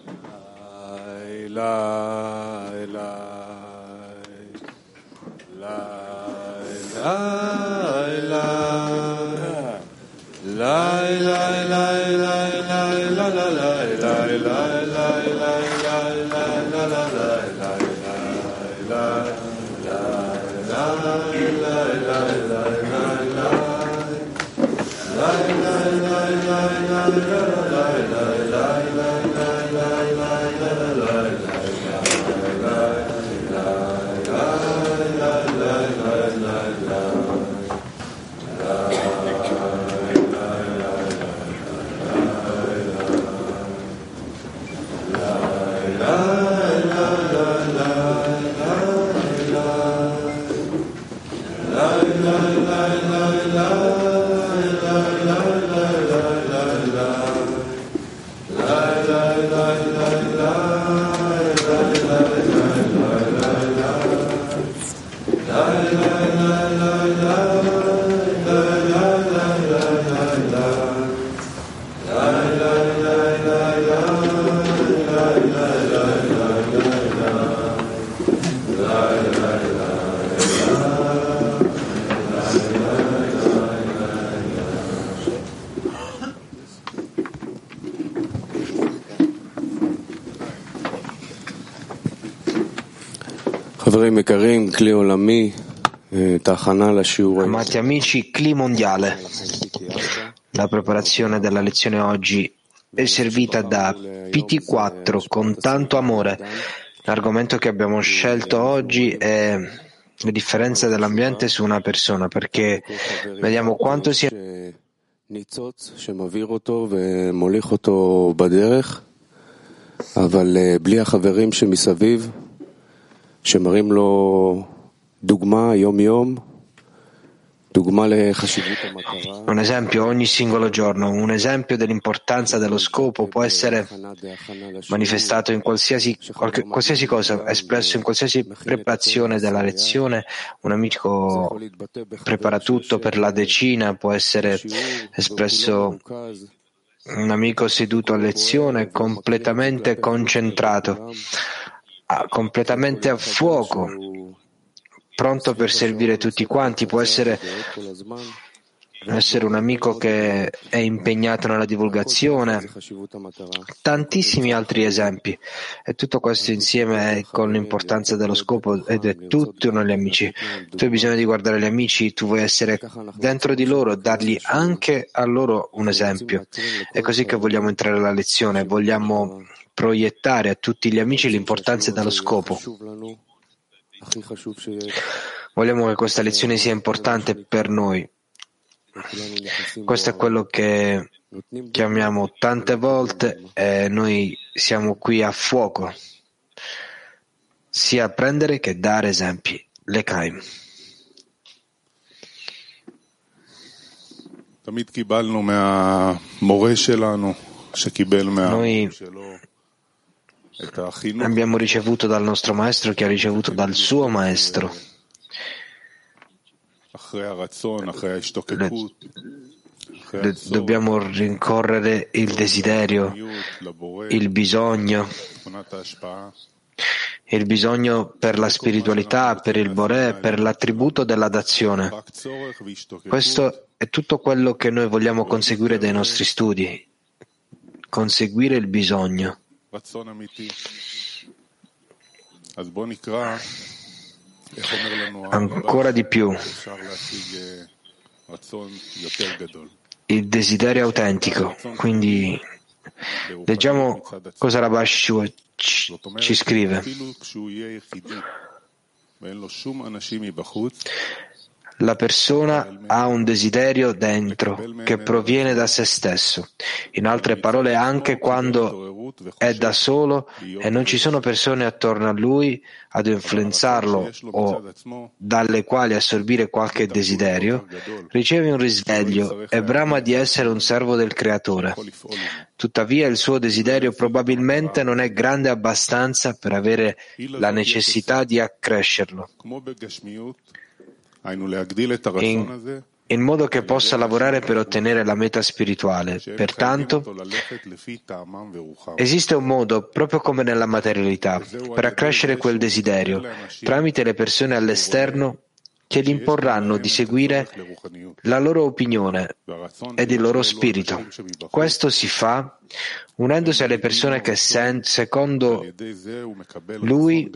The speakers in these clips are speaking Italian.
Amati amici, Cli Mondiale. La preparazione della lezione oggi è servita da PT4 con tanto amore. L'argomento che abbiamo scelto oggi è la differenza dell'ambiente su una persona, perché vediamo quanto sia אבל בלי החברים שמסביב שמראים לו דוגמה יום-יום, דוגמה לחשיבות המטרה. Un esempio ogni singolo giorno, un esempio dell'importanza dello scopo può essere manifestato in qualsiasi cosa, espresso in qualsiasi preparazione della lezione. Un amico prepara tutto per la decina, può essere espresso un amico seduto a lezione, completamente concentrato, completamente a fuoco, pronto per servire tutti quanti. Può essere un amico che è impegnato nella divulgazione, tantissimi altri esempi, e tutto questo insieme è con l'importanza dello scopo, ed è tutti noi gli amici. Tu hai bisogno di guardare gli amici, tu vuoi essere dentro di loro, dargli anche a loro un esempio. È così che vogliamo entrare alla lezione, vogliamo proiettare a tutti gli amici l'importanza dello scopo. Vogliamo che questa lezione sia importante per noi. Questo è quello che chiamiamo tante volte, e noi siamo qui a fuoco, sia prendere che dare esempi. L'Ekaim. Noi abbiamo ricevuto dal nostro maestro che ha ricevuto dal suo maestro. Dobbiamo rincorrere il desiderio, il bisogno per la spiritualità, per il Boré, per l'attributo della dazione. Questo è tutto quello che noi vogliamo conseguire dai nostri studi, conseguire il bisogno. Ancora di più, il desiderio autentico. Quindi leggiamo cosa Rabash ci scrive. La persona ha un desiderio dentro che proviene da se stesso. In altre parole, anche quando è da solo e non ci sono persone attorno a lui ad influenzarlo o dalle quali assorbire qualche desiderio, riceve un risveglio e brama di essere un servo del Creatore. Tuttavia il suo desiderio probabilmente non è grande abbastanza per avere la necessità di accrescerlo. in modo che possa lavorare per ottenere la meta spirituale. Pertanto, esiste un modo, proprio come nella materialità, per accrescere quel desiderio, tramite le persone all'esterno che gli imporranno di seguire la loro opinione ed il loro spirito. Questo si fa unendosi alle persone che secondo lui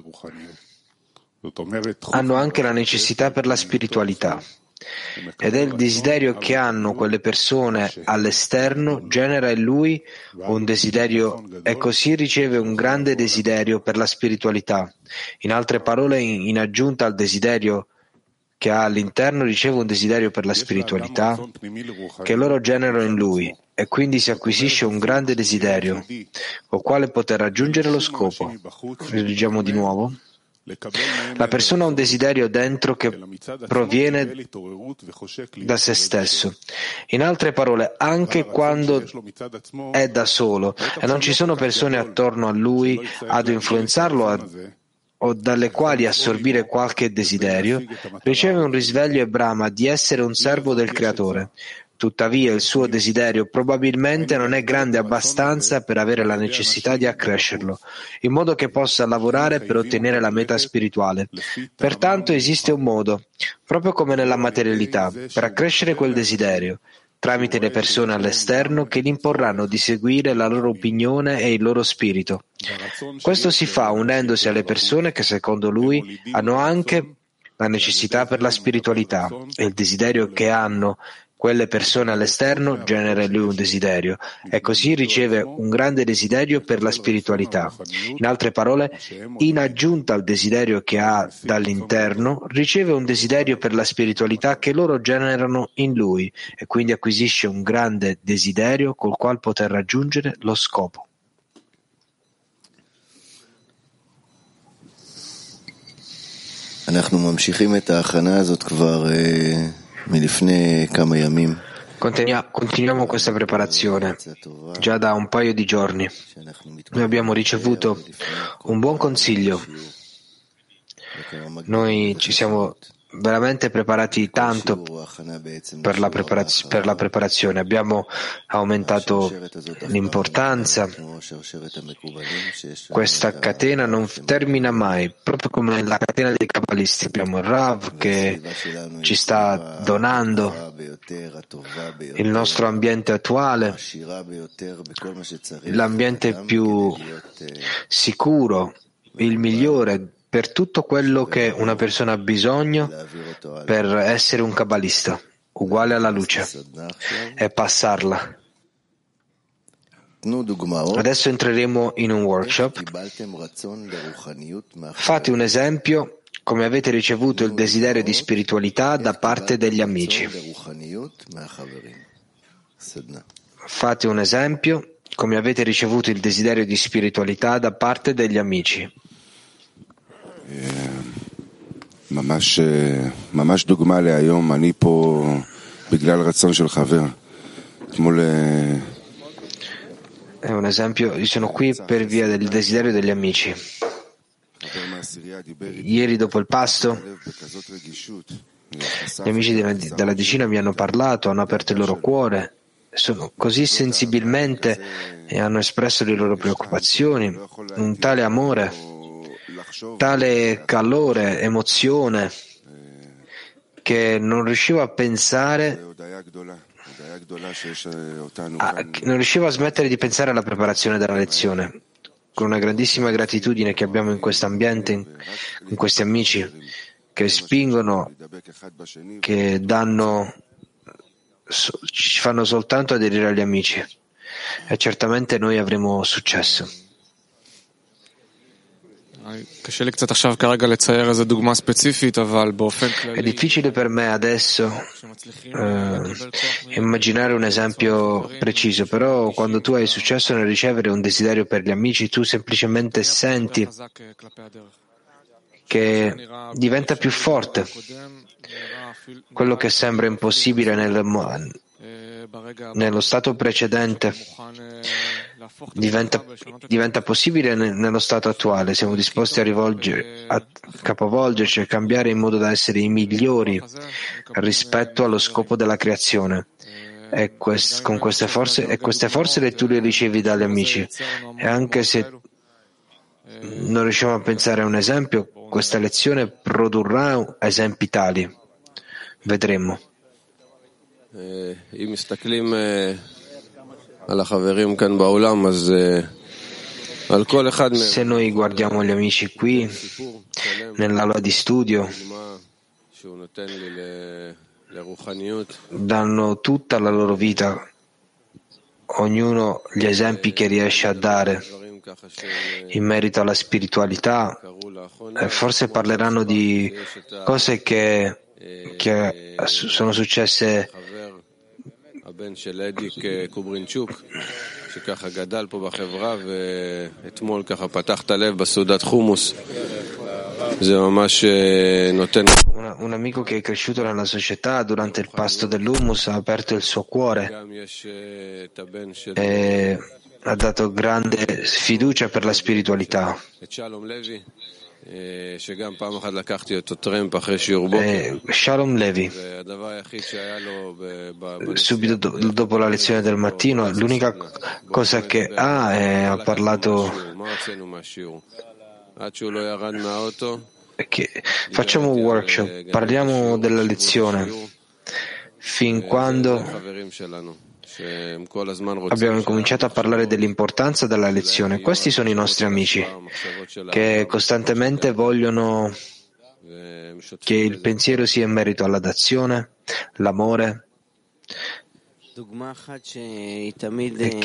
hanno anche la necessità per la spiritualità. Ed è il desiderio che hanno quelle persone all'esterno genera in lui un desiderio e così riceve un grande desiderio per la spiritualità. In altre parole, in aggiunta al desiderio che ha all'interno, riceve un desiderio per la spiritualità che loro generano in lui e quindi si acquisisce un grande desiderio col quale poter raggiungere lo scopo. Leggiamo di nuovo. La persona ha un desiderio dentro che proviene da se stesso. In altre parole, anche quando è da solo e non ci sono persone attorno a lui ad influenzarlo o dalle quali assorbire qualche desiderio, riceve un risveglio e brama di essere un servo del Creatore. Tuttavia il suo desiderio probabilmente non è grande abbastanza per avere la necessità di accrescerlo, in modo che possa lavorare per ottenere la meta spirituale. Pertanto esiste un modo, proprio come nella materialità, per accrescere quel desiderio, tramite le persone all'esterno che gli imporranno di seguire la loro opinione e il loro spirito. Questo si fa unendosi alle persone che secondo lui hanno anche la necessità per la spiritualità e il desiderio che hanno quelle persone all'esterno genera in lui un desiderio e così riceve un grande desiderio per la spiritualità. In altre parole, in aggiunta al desiderio che ha dall'interno, riceve un desiderio per la spiritualità che loro generano in lui e quindi acquisisce un grande desiderio col quale poter raggiungere lo scopo. אנחנו ממשיכים את ההכנה הזאת כבר מלפני כמה ימים. Continuiamo questa preparazione già da un paio di giorni. Noi abbiamo ricevuto un buon consiglio. Noi ci siamo veramente preparati tanto per la preparazione. Abbiamo aumentato l'importanza. Questa catena non termina mai, proprio come la catena dei Kabbalisti. Abbiamo il Rav che ci sta donando il nostro ambiente attuale, l'ambiente più sicuro, il migliore per tutto quello che una persona ha bisogno per essere un kabbalista, uguale alla luce, e passarla. Adesso entreremo in un workshop. Fate un esempio come avete ricevuto il desiderio di spiritualità da parte degli amici. Fate un esempio come avete ricevuto il desiderio di spiritualità da parte degli amici. ממש דוגמה להיום, אני פה בגלל רצון של חבר. אתמול È un esempio, io sono qui per via del desiderio degli amici. Ieri dopo il pasto gli amici della decina mi hanno parlato, hanno aperto il loro cuore, sono così sensibilmente e hanno espresso le loro preoccupazioni, un tale amore, tale calore, emozione, che non riuscivo a pensare, non riuscivo a smettere di pensare alla preparazione della lezione. Con una grandissima gratitudine che abbiamo in questo ambiente, in questi amici che spingono, che danno, ci fanno soltanto aderire agli amici, e certamente noi avremo successo. È difficile per me adesso immaginare un esempio preciso, però quando tu hai successo nel ricevere un desiderio per gli amici, tu semplicemente senti che diventa più forte. Quello che sembra impossibile nello stato precedente diventa possibile nello stato attuale. Siamo disposti a capovolgerci e cambiare in modo da essere i migliori rispetto allo scopo della creazione. E queste forze le tu le ricevi dagli amici. E anche se non riusciamo a pensare a un esempio, questa lezione produrrà esempi tali. Vedremo. Se noi guardiamo gli amici qui, nell'aula di studio, danno tutta la loro vita, ognuno gli esempi che riesce a dare in merito alla spiritualità, e forse parleranno di cose che sono successe un amico che è cresciuto nella società durante il pasto dell'hummus ha aperto il suo cuore e ha dato grande fiducia per la spiritualità. Shalom Levi, subito dopo la lezione del mattino, l'unica cosa che ha parlato che facciamo un workshop, parliamo della lezione fin quando abbiamo cominciato a parlare dell'importanza della lezione. Questi sono i nostri amici che costantemente vogliono che il pensiero sia in merito alla dazione, l'amore, e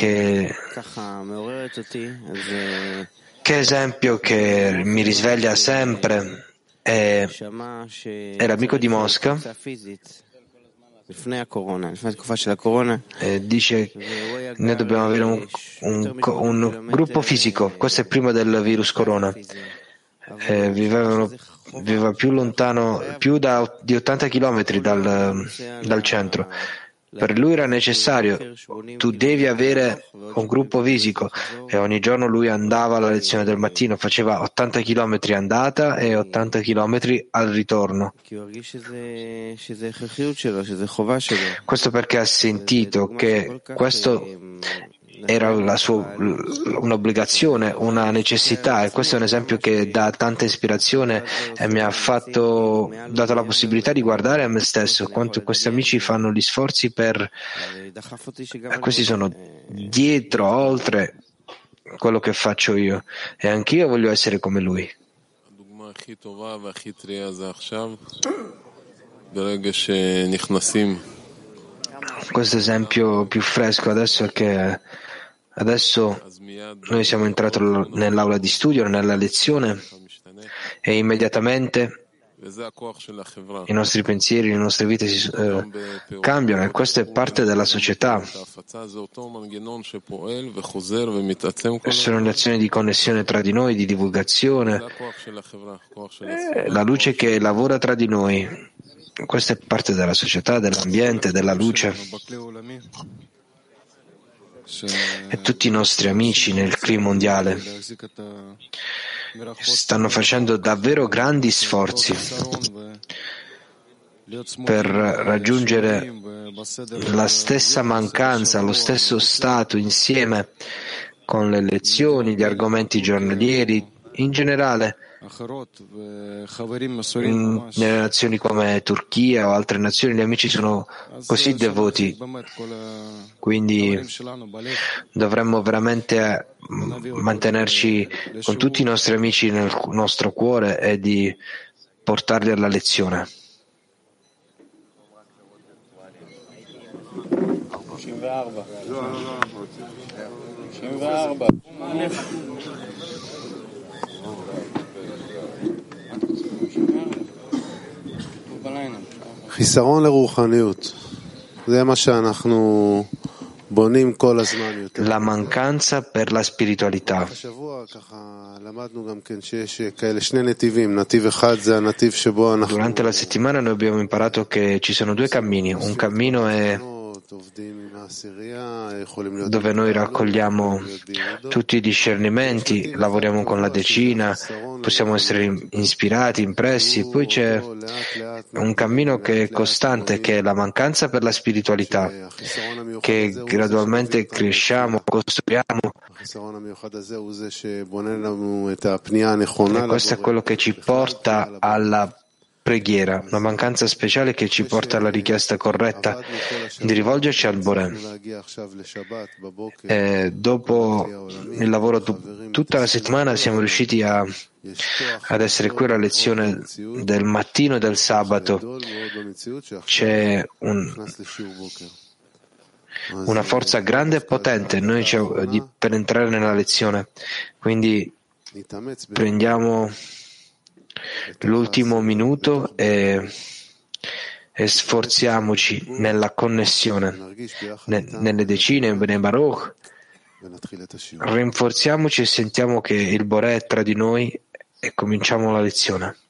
che esempio che mi risveglia sempre è l'amico di Mosca. Dice noi dobbiamo avere un gruppo fisico. Questo è prima del virus corona. Viveva più lontano, di 80 chilometri dal centro. Per lui era necessario, tu devi avere un gruppo fisico, e ogni giorno lui andava alla lezione del mattino, faceva 80 chilometri andata e 80 chilometri al ritorno. Questo perché ha sentito che questo era un'obbligazione, una necessità, e questo è un esempio che dà tanta ispirazione e mi ha dato la possibilità di guardare a me stesso quanto questi amici fanno gli sforzi questi sono dietro, oltre quello che faccio io, e anch'io voglio essere come lui. Questo esempio più fresco adesso è che adesso noi siamo entrati nell'aula di studio, nella lezione, e immediatamente i nostri pensieri, le nostre vite cambiano, e questo è parte della società. Sono le azioni di connessione tra di noi, di divulgazione, la luce che lavora tra di noi. Questa è parte della società, dell'ambiente, della luce. E tutti i nostri amici nel clima mondiale stanno facendo davvero grandi sforzi per raggiungere la stessa mancanza, lo stesso stato insieme con le lezioni, gli argomenti giornalieri, in generale. Nelle nazioni come Turchia o altre nazioni gli amici sono così devoti, quindi dovremmo veramente mantenerci con tutti i nostri amici nel nostro cuore e di portarli alla lezione. חיסרון לרוחניות, זה מה שאנחנו בונים כל הזמן יותר. La mancanza per la spiritualità. השבוע ככה למדנו גם כן שיש כאלה שני נתיבים, נתיב אחד זה הנתיב שבו אנחנו Durante la settimana noi abbiamo imparato che ci sono due cammini. Un cammino è dove noi raccogliamo tutti i discernimenti, lavoriamo con la decina, possiamo essere ispirati, impressi. Poi c'è un cammino che è costante, che è la mancanza per la spiritualità, che gradualmente cresciamo, costruiamo. E questo è quello che ci porta alla preghiera, una mancanza speciale che ci porta alla richiesta corretta di rivolgerci al Boré. E dopo il lavoro tutta la settimana siamo riusciti ad essere qui alla lezione del mattino e del sabato. C'è una forza grande e potente per entrare nella lezione. Quindi prendiamo l'ultimo minuto e sforziamoci nella connessione, nelle decine, in Bnei Baruch. Rinforziamoci e sentiamo che il Boré è tra di noi e cominciamo la lezione.